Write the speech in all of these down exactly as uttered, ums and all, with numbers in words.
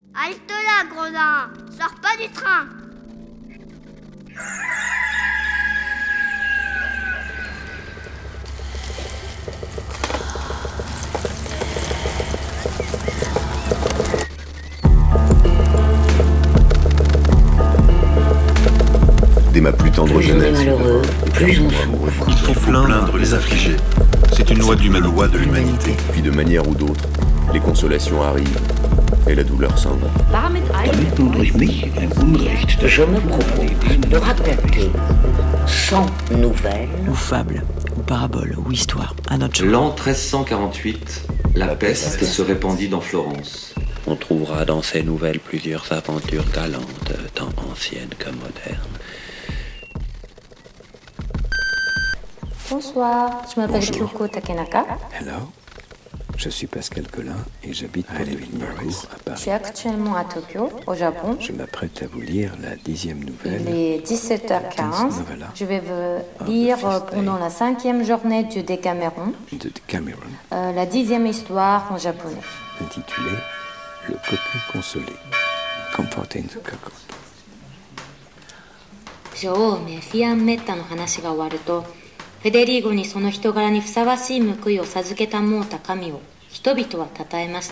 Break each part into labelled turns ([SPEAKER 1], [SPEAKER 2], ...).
[SPEAKER 1] Halte là, gredin. Sors pas du train.
[SPEAKER 2] Dès ma plus tendre
[SPEAKER 3] plus
[SPEAKER 2] jeunesse,
[SPEAKER 3] on est malheureux, plus on souffre.
[SPEAKER 4] Il faut plaindre les affligés. C'est une loi de l'humanité.
[SPEAKER 2] loi de l'humanité. Puis de manière ou d'autre, les consolations arrivent et la douleur s'en va.
[SPEAKER 3] Damit du durch mich ein Unrecht. Je me propose de raconter cent nouvelles
[SPEAKER 5] ou fables, ou paraboles, ou histoires, à notre genre.
[SPEAKER 6] L'an treize cent quarante-huit, la peste se répandit dans Florence.
[SPEAKER 7] On trouvera dans ces nouvelles plusieurs aventures galantes, tant anciennes que modernes.
[SPEAKER 8] Bonsoir, je m'appelle
[SPEAKER 9] Bonjour.
[SPEAKER 8] Kyoko Takenaka.
[SPEAKER 9] Hello, je suis Pascal Collin et j'habite à Edinburgh, à
[SPEAKER 8] Je
[SPEAKER 9] Paris.
[SPEAKER 8] suis actuellement à Tokyo, au Japon.
[SPEAKER 9] Je m'apprête à vous lire la dixième nouvelle.
[SPEAKER 8] Il est dix-sept heures quinze.
[SPEAKER 9] Novella.
[SPEAKER 8] Je vais vous lire euh, pendant la cinquième journée du Décameron
[SPEAKER 9] de Cameron,
[SPEAKER 8] euh, la dixième histoire en japonais.
[SPEAKER 9] intitulée Le coquin consolé. Comforting the Cocoon.
[SPEAKER 10] 女王メフィアン・メッタの話が終わると、フェデリーゴにその人柄にふさわしい報いを授けたもうた神を人々は称えました。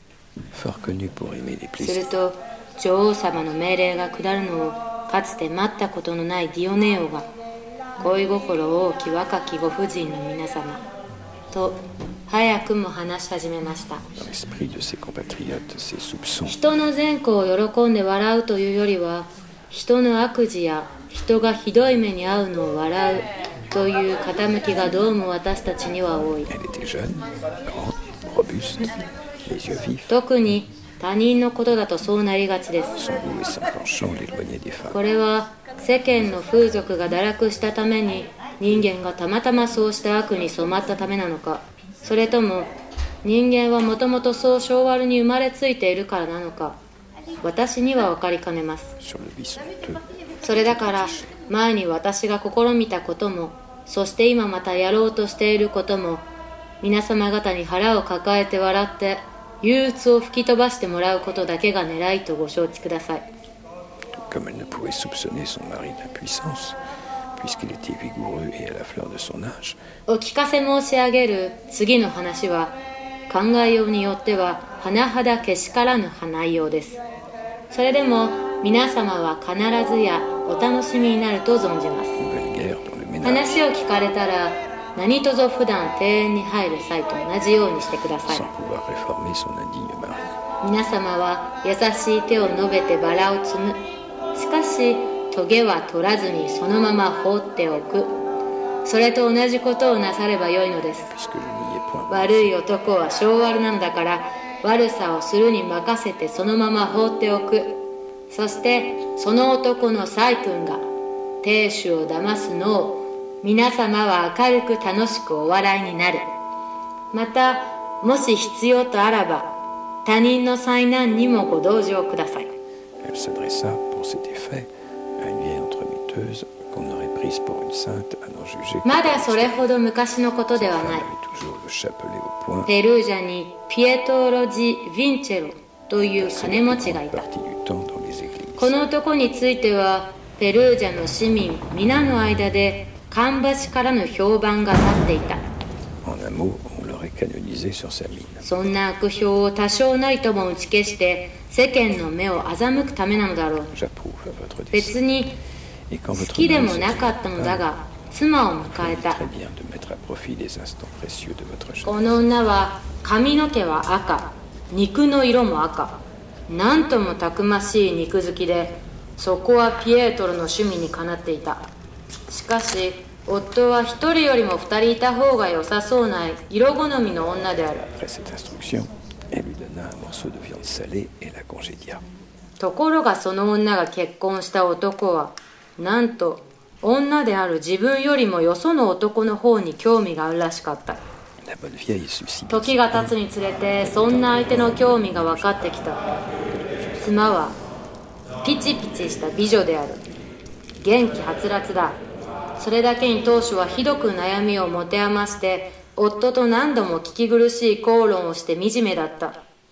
[SPEAKER 9] Fort connu pour aimer les
[SPEAKER 10] する
[SPEAKER 9] plaisirs.
[SPEAKER 10] と女王様の命令が下るのをかつて待ったことのないディオネオが、恋心大き若きご婦人の皆様と早くも話し始めました。
[SPEAKER 9] Dans l'esprit de ses compatriotes, ses soupçons.
[SPEAKER 10] 人の善行を喜んで笑うというよりは、人の悪事や人がひどい目に遭うのを笑うという傾きがどうも私たちには多い。
[SPEAKER 9] Elle était jeune, grande, robuste, les yeux vifs.
[SPEAKER 10] 特に他人のことだとそうなりがちです。
[SPEAKER 9] Son goût et son penchant l'éloignaient des femmes.
[SPEAKER 10] これは世間の風俗が堕落したために人間がたまたまそうした悪に染まったためなのか、それとも人間はもともとそう性悪に生まれついているからなのか、私には分かりかねます。
[SPEAKER 9] Sur le vice honteux.
[SPEAKER 10] それだから前に私が試みたことも、そして今またやろうとしていることも、皆様方に腹を抱えて笑って憂鬱を吹き飛ばしてもらうことだけが狙いとご承知ください。
[SPEAKER 9] Comme elle ne pouvait soupçonner son mari d'impuissance, puisqu'il était vigoureux et à la fleur de son âge,
[SPEAKER 10] お聞かせ申し上げる次の話は、考えようによっては甚だけしからぬ内容です。それでも皆様は必ずやお楽しみになると存じます。
[SPEAKER 9] nouvelle guerre dans le ménage.
[SPEAKER 10] 話を聞かれたら何卒普段庭園に入る際と同じようにしてください。
[SPEAKER 9] Sans pouvoir réformer son indigne mari.
[SPEAKER 10] 皆様は優しい手を述べてバラを摘む。しかしトゲは取らずにそのまま放っておく。それと同じことをなさればよいのです。
[SPEAKER 9] Puisque je n'y ai point
[SPEAKER 10] 悪い男は性悪なのだから、悪さをするに任せてそのまま放っておく。そしてその男の細君が亭主を騙すのを皆様は明るく楽しくお笑いになる。またもし必要とあらば他人の災難にもご同情ください。
[SPEAKER 9] Elle s'adressa pour cet effet à une vieille entremetteuse qu'on aurait prise pour une sainte à n'en juger.
[SPEAKER 10] まだそれほど昔のことでは
[SPEAKER 9] Elle
[SPEAKER 10] ない。
[SPEAKER 9] avait toujours le chapelet au poing.
[SPEAKER 10] ペルージャにピエトロ・ジ・ヴィンチェロという金持ちがいた。
[SPEAKER 9] Partie du temps dans les églises.
[SPEAKER 10] この男についてはペルージャの市民皆の間で芳しからぬ評判が立っていた。
[SPEAKER 9] En un mot, on l'aurait canonisé sur sa mine.
[SPEAKER 10] そんな悪評を多少なりとも打ち消して世間の目を欺くためなのだろう。
[SPEAKER 9] J'approuve votre décision.
[SPEAKER 10] 別に
[SPEAKER 9] Et quand
[SPEAKER 10] 好
[SPEAKER 9] votre
[SPEAKER 10] きで
[SPEAKER 9] mari
[SPEAKER 10] も
[SPEAKER 9] se
[SPEAKER 10] なかったのだが妻を迎え
[SPEAKER 9] fait
[SPEAKER 10] た。
[SPEAKER 9] très bien de mettre à profit les instants précieux de votre jeunesse.
[SPEAKER 10] この女は髪の毛は赤、肉の色も赤、なんともたくましい肉好きで、そこはピエトロの趣味にかなっていた。しかし夫は一人よりも二人いた方が良さそうな色好みの女である。
[SPEAKER 9] Après cette instruction, elle lui donna un morceau de viande salée et la congédia.
[SPEAKER 10] ところがその女が結婚した男はなんと女である自分よりもよその男の方に興味があるらしかった。
[SPEAKER 9] La bonne vieille suscita
[SPEAKER 10] 時が経つにつれてそんな相手の興味が分かってきた。妻はピチピチした美女である。元気はつらつだ。それだけに当初はひどく悩みを持て余して夫と何度も聞き苦しい口論をして惨めだった。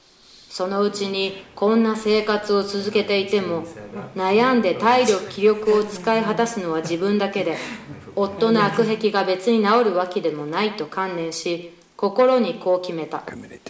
[SPEAKER 10] そのうちにこんな生活を続けていても悩んで体力気力を使い果たすのは自分だけで、夫の悪癖が別に治るわけでもないと観念し、心にこう決めた。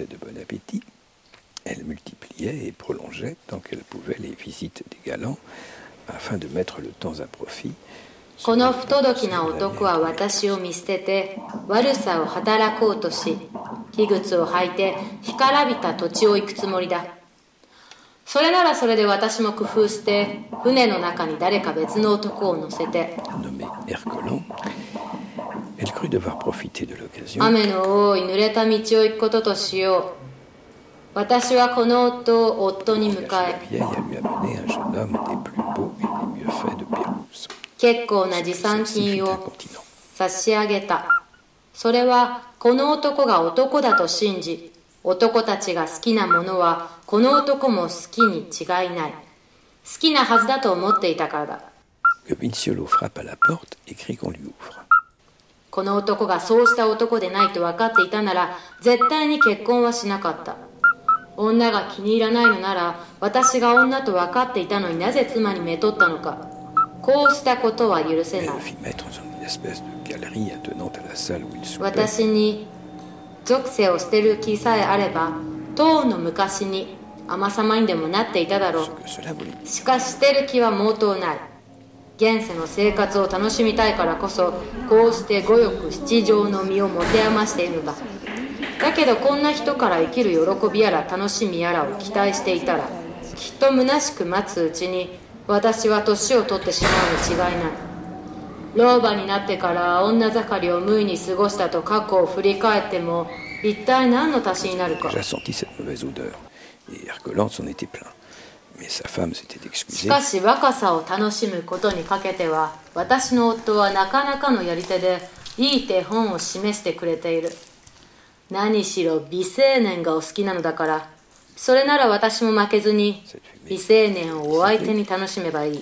[SPEAKER 9] Elle multipliait et prolongeait tant qu'elle pouvait les visites des galants afin de mettre le temps à profit.
[SPEAKER 10] この不届きな男は私を見捨てて悪さを働こうとし、器具を履いて干からびた土地を行くつもりだ。それならそれで私も工夫して船の中に誰か別の男を乗せて、雨の多い濡れた道を行くこととしよう。私はこの夫を夫に迎え、結構な持参金を差し上げた。それはこの男が男だと信じ、男たちが好きなものはこの男も好きに違いない、好きなはずだと思っていたからだ。この男がそうした男でないと分かっていたなら絶対に結婚はしなかった。女が気に入らないのなら、私が女と分かっていたのになぜ妻にめとったのか。こうしたことは許せない。私に属性を捨てる気さえあれば、とうの昔に尼様にでもなっていただろう。しかし捨てる気は毛頭ない。現世の生活を楽しみたいからこそ、こうして五欲七情の身を持て余しているのだ。だけどこんな人から生きる喜びやら楽しみやらを期待していたら、きっと虚しく待つうちに私は年を取ってしまうに違いない。老婆になってから女盛りを無意に過ごしたと過去を振り返っても一体何の足しになるか。しかし若さを楽しむことにかけては、私の夫はなかなかのやり手でいい手本を示してくれている。何しろ美青年がお好きなのだから、それなら私も負けずに美青年をお相手に楽しめばいい。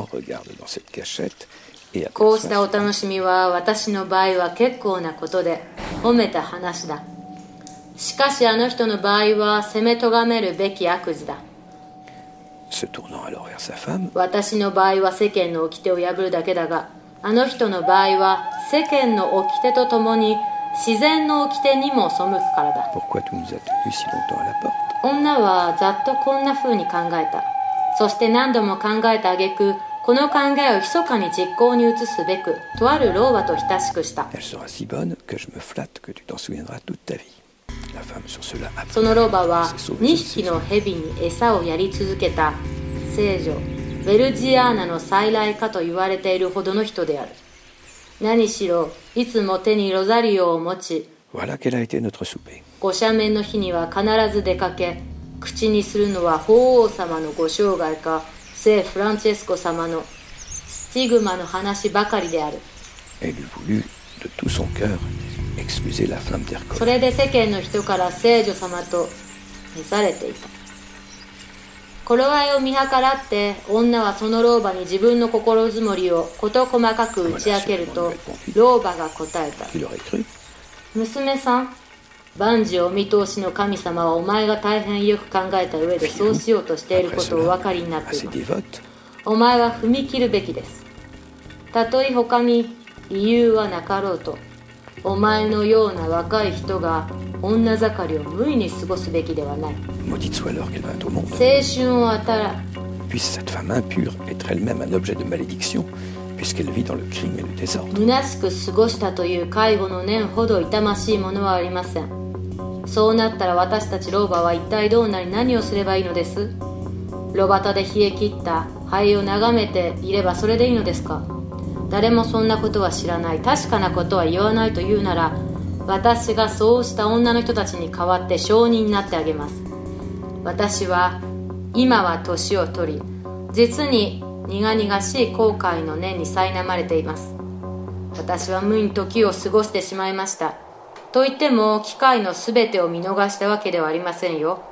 [SPEAKER 10] こうしたお楽しみは私の場合は結構なことで褒めた話だ。しかしあの人の場合は責めとがめるべき悪事だ。私の場合は世間の掟を破るだけだが、あの人の場合は世間の掟とともに自然の掟にも背くからだ。女はざっとこんな風に考えた。そして何度も考えた挙句、この考えを密かに実行に移すべく、とある老婆と親しくした。その老婆はにひきの蛇に餌をやり続けた聖女ベルジアーナの再来かと言われているほどの人である。何しろいつも手にロザリオを持ち、ご赦免の日には必ず出かけ、口にするのは法皇様のご生涯か聖フランチェスコ様のスティグマの話ばかりである。それで世間の人から聖女様と召されていた。頃合いを見計らって女はその老婆に自分の心づもりを事細かく打ち明けると、老婆が答えた。娘さん、万事お見通しの神様はお前が大変よく考えた上でそうしようとしていることをお分かりになっています。お前は踏み切るべきです。たとえ他に理由はなかろうと、お前のような若い人が女盛りを無意に過ごすべきではない。青春を与え虚しく過ごしたという介護の念ほど痛ましいものはありません。そうなったら私たち老婆は一体どうなり何をすればいいのです？炉端で冷え切った灰を眺めていればそれでいいのですか？誰もそんなことは知らない、確かなことは言わないというなら、私がそうした女の人たちに代わって証人になってあげます。私は今は年を取り、実に苦々しい後悔の念に苛まれています。私は無意に時を過ごしてしまいました。と言っても機会のすべてを見逃したわけではありませんよ。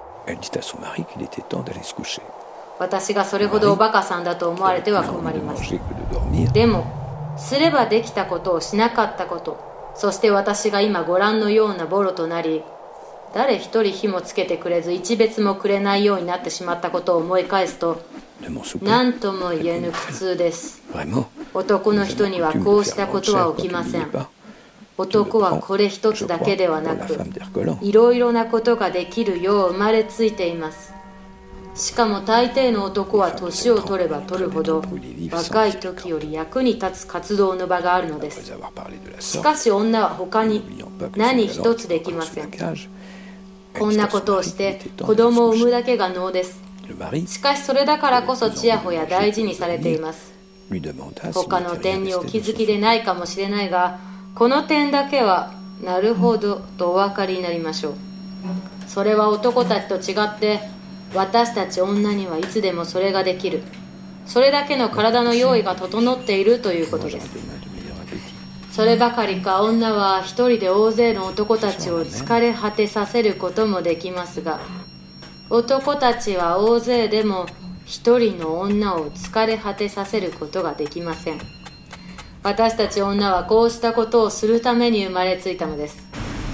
[SPEAKER 10] 私がそれほどおバカさんだと思われては困ります。でもすればできたことをしなかったこと、そして私が今ご覧のようなボロとなり、 誰一人火もつけてくれず一別もくれないようになってしまったことを思い返すと、何とも言えぬ苦痛です。男の人にはこうしたことは起きません。男はこれ一つだけではなく、いろいろなことができるよう生まれついています。しかも大抵の男は年を取れば取るほど、若い時より役に立つ活動の場があるのです。しかし女は他に何一つできません。こんなことをして子供を産むだけが能です。しかしそれだからこそちやほや大事にされています。他の点にお気づきでないかもしれないが、この点だけはなるほどとお分かりになりましょう。それは男たちと違って私たち女にはいつでもそれができる。それだけの体の用意が整っているということです。そればかりか、女は一人で大勢の男たちを疲れ果てさせることもできますが、男たちは大勢でも一人の女を疲れ果てさせることができません。私たち女はこうしたことをするために生まれついたのです。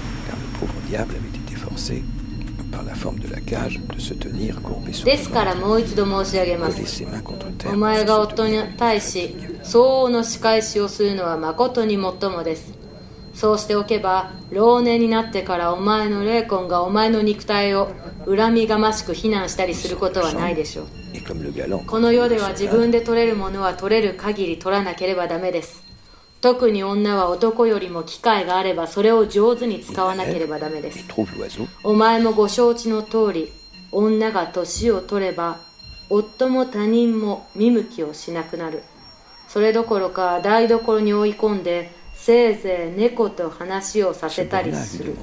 [SPEAKER 10] ですからもう一度申し上げます。お前が夫に対し相応の仕返しをするのは誠にもっともです。そうしておけば老年になってからお前の霊魂がお前の肉体を恨みがましく非難したりすることはないでしょう。この世では自分で取れるものは取れる限り取らなければダメです。特に女は男よりも機会があればそれを上手に使わなければダメです。お前もご承知の通り、女が年を取れば夫も他人も見向きをしなくなる。それどころか台所に追い込んでせいぜい猫と話をさせたりする。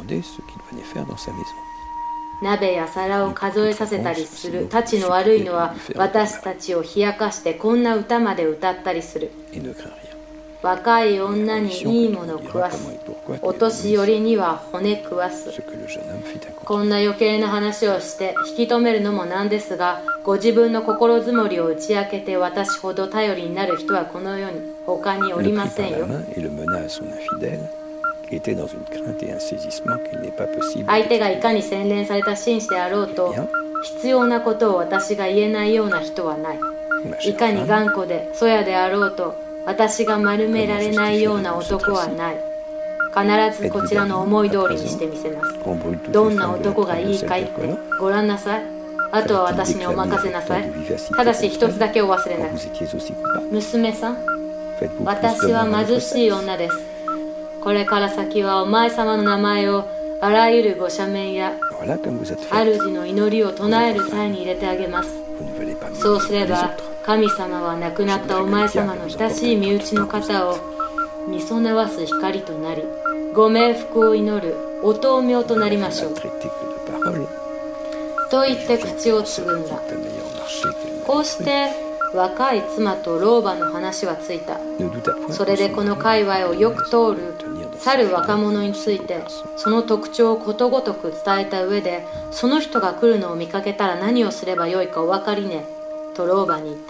[SPEAKER 10] 鍋や皿を数えさせたりする。たちの悪いのは私たちを冷やかしてこんな歌まで歌ったりする。若い女にいいもの食わす。お年寄りには骨食わす。こんな余計な話をして引き止めるのもなんですが、ご自分の心づもりを打ち明けて私ほど頼りになる人はこの世に他におりませんよ。相手がいかに洗練された紳士であろうと、必要なことを私が言えないような人はない。いかに頑固でそやであろうと、私が丸められないような男はない。必ずこちらの思い通りにしてみせます。どんな男がいいかいってご覧なさい。あとは私にお任せなさい。ただし一つだけお忘れなく。娘さん、私は貧しい女です。これから先はお前様の名前をあらゆるご赦免や主の祈りを唱える際に入れてあげます。そうすれば神様は亡くなったお前様の親しい身内の方を見備わす光となり、ご冥福を祈るお灯明となりましょう。と言って口をつぐんだ。こうして若い妻と老婆の話はついた。それでこの界隈をよく通る去る若者についてその特徴をことごとく伝えた上で、その人が来るのを見かけたら何をすればよいかお分かりねと老婆に言った。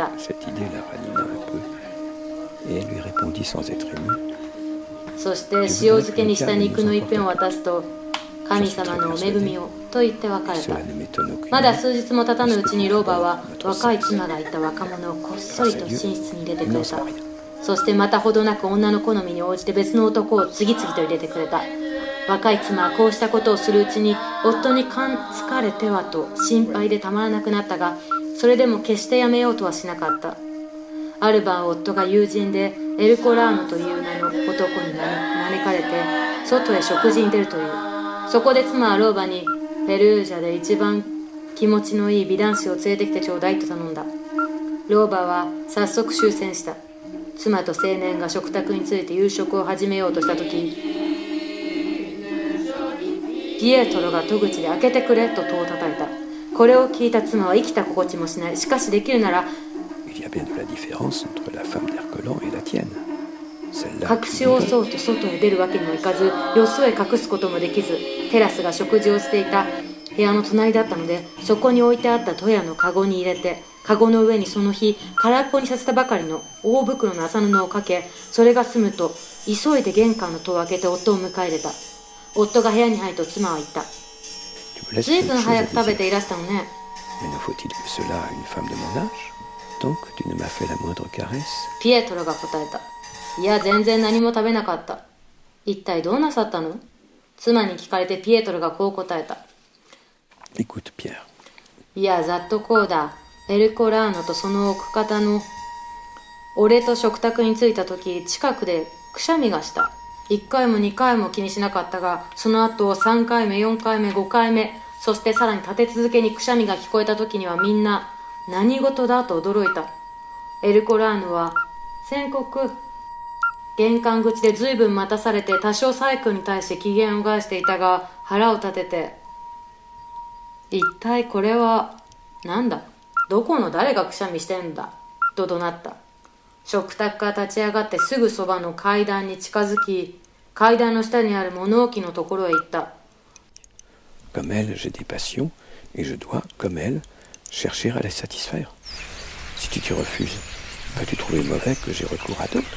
[SPEAKER 10] そして塩漬けにした肉の一片を渡すと、神様のお恵みをと言って別れた。まだ数日も経たぬうちに老婆は若い妻がいた若者をこっそりと寝室に入れてくれた。そしてまたほどなく女の好みに応じて別の男を次々と入れてくれた。若い妻はこうしたことをするうちに夫に感疲れてはと心配でたまらなくなったが、それでも決してやめようとはしなかった。ある晩夫が友人でエルコラーノという名の男に招かれて外へ食事に出るという。そこで妻は老婆にペルージャで一番気持ちのいい美男子を連れてきてちょうだいと頼んだ。老婆は早速終戦した。妻と青年が食卓について夕食を始めようとしたとき、ピエトロが戸口で開けてくれと戸を叩いた。これを聞いた妻は生きた心地もしない。しかしできるなら隠しをそうと外へ出るわけにもいかず、よそへ隠すこともできず、テラスが食事をしていた部屋の隣だったので、そこに置いてあった戸屋のカゴに入れて、カゴの上にその日空っぽにさせたばかりの大袋の麻布をかけ、それが済むと急いで玄関の戸を開けて夫を迎え入れた。夫が部屋に入ると妻は言った。
[SPEAKER 9] laisse
[SPEAKER 10] 随
[SPEAKER 9] quelque
[SPEAKER 10] 分
[SPEAKER 9] chose
[SPEAKER 10] 早
[SPEAKER 9] à
[SPEAKER 10] く食べ
[SPEAKER 9] désirer.
[SPEAKER 10] ていらしたのね。
[SPEAKER 9] Mais ne faut-il que cela à une femme de mon âge? Tant que tu ne m'as fait la moindre caresse.
[SPEAKER 10] ピエトロが答えた。いや、全然何も食べなかった。一体どうなさったの？妻に聞かれてピエトロがこう答えた。
[SPEAKER 9] Écoute, Pierre.
[SPEAKER 10] いや、ざっとこうだ。エルコラーノとその奥方の俺と食卓に着いた時、近くでくしゃみがした。いっかいもにかいも気にしなかったが、その後さんかいめ、よんかいめ、ごかいめ、そしてさらに立て続けにくしゃみが聞こえた時にはみんな何事だと驚いた。エルコラーノは宣告玄関口で随分待たされて多少サイ君に対して機嫌を害していたが、腹を立てて、一体これはなんだ、どこの誰がくしゃみしてんだと怒鳴った。食卓から立ち上がってすぐそばの階段に近づき、階段の下にある物置のところへ行った。
[SPEAKER 9] Comme elle, j'ai des passions, et je dois, comme elle, chercher à les satisfaire. Si tu t'y refuses, peux-tu trouver mauvais que j'ai recours à d'autres?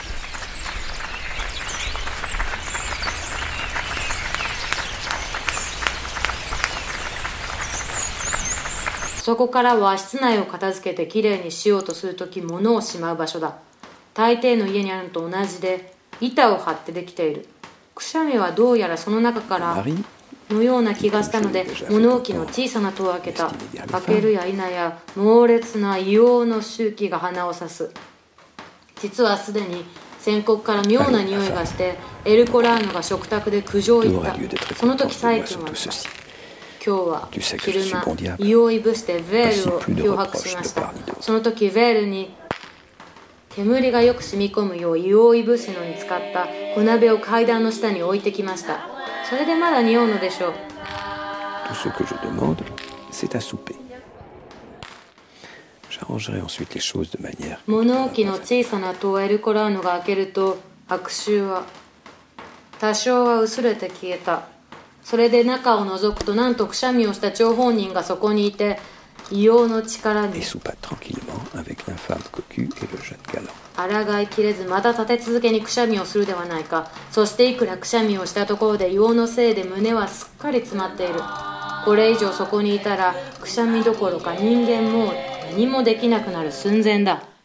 [SPEAKER 10] そこからは室内を片付けてきれいにしようとするとき物をしまう場所だ。大抵の家にあるのと同じで板を張ってできている。くしゃみはどうやらその中からのような気がしたので、物置の小さな戸を開けた。開けるや否や猛烈な硫黄の臭気が鼻を刺す。実はすでに宣告から妙な匂いがしてエルコラーノが食卓で苦情を言った。その時サイ君は言った。今日は昼間硫黄いぶしてヴェールを漂白しました。その時ヴェールに煙がよく染み込むよう硫黄いぶすのに使った小鍋を階段の下に置いてきました。それでまだ匂うのでしょう。
[SPEAKER 9] Tout ce que je demande, c'est à souper. J'arrangerai ensuite les choses de manière.
[SPEAKER 10] 物置の小さな戸をエルコラーノが開けると、悪臭は多少は薄れて消えた。それで中を覗くと、なんとくしゃみをした張本人がそこにいて、硫黄の力に抗いきれずまた立て続けにくしゃみをするではないか。そしていくらくしゃみをしたところで硫黄のせいで胸はすっかり詰まっている。これ以上そこにいたらくしゃみどころか人間も何もできなくなる寸前だ。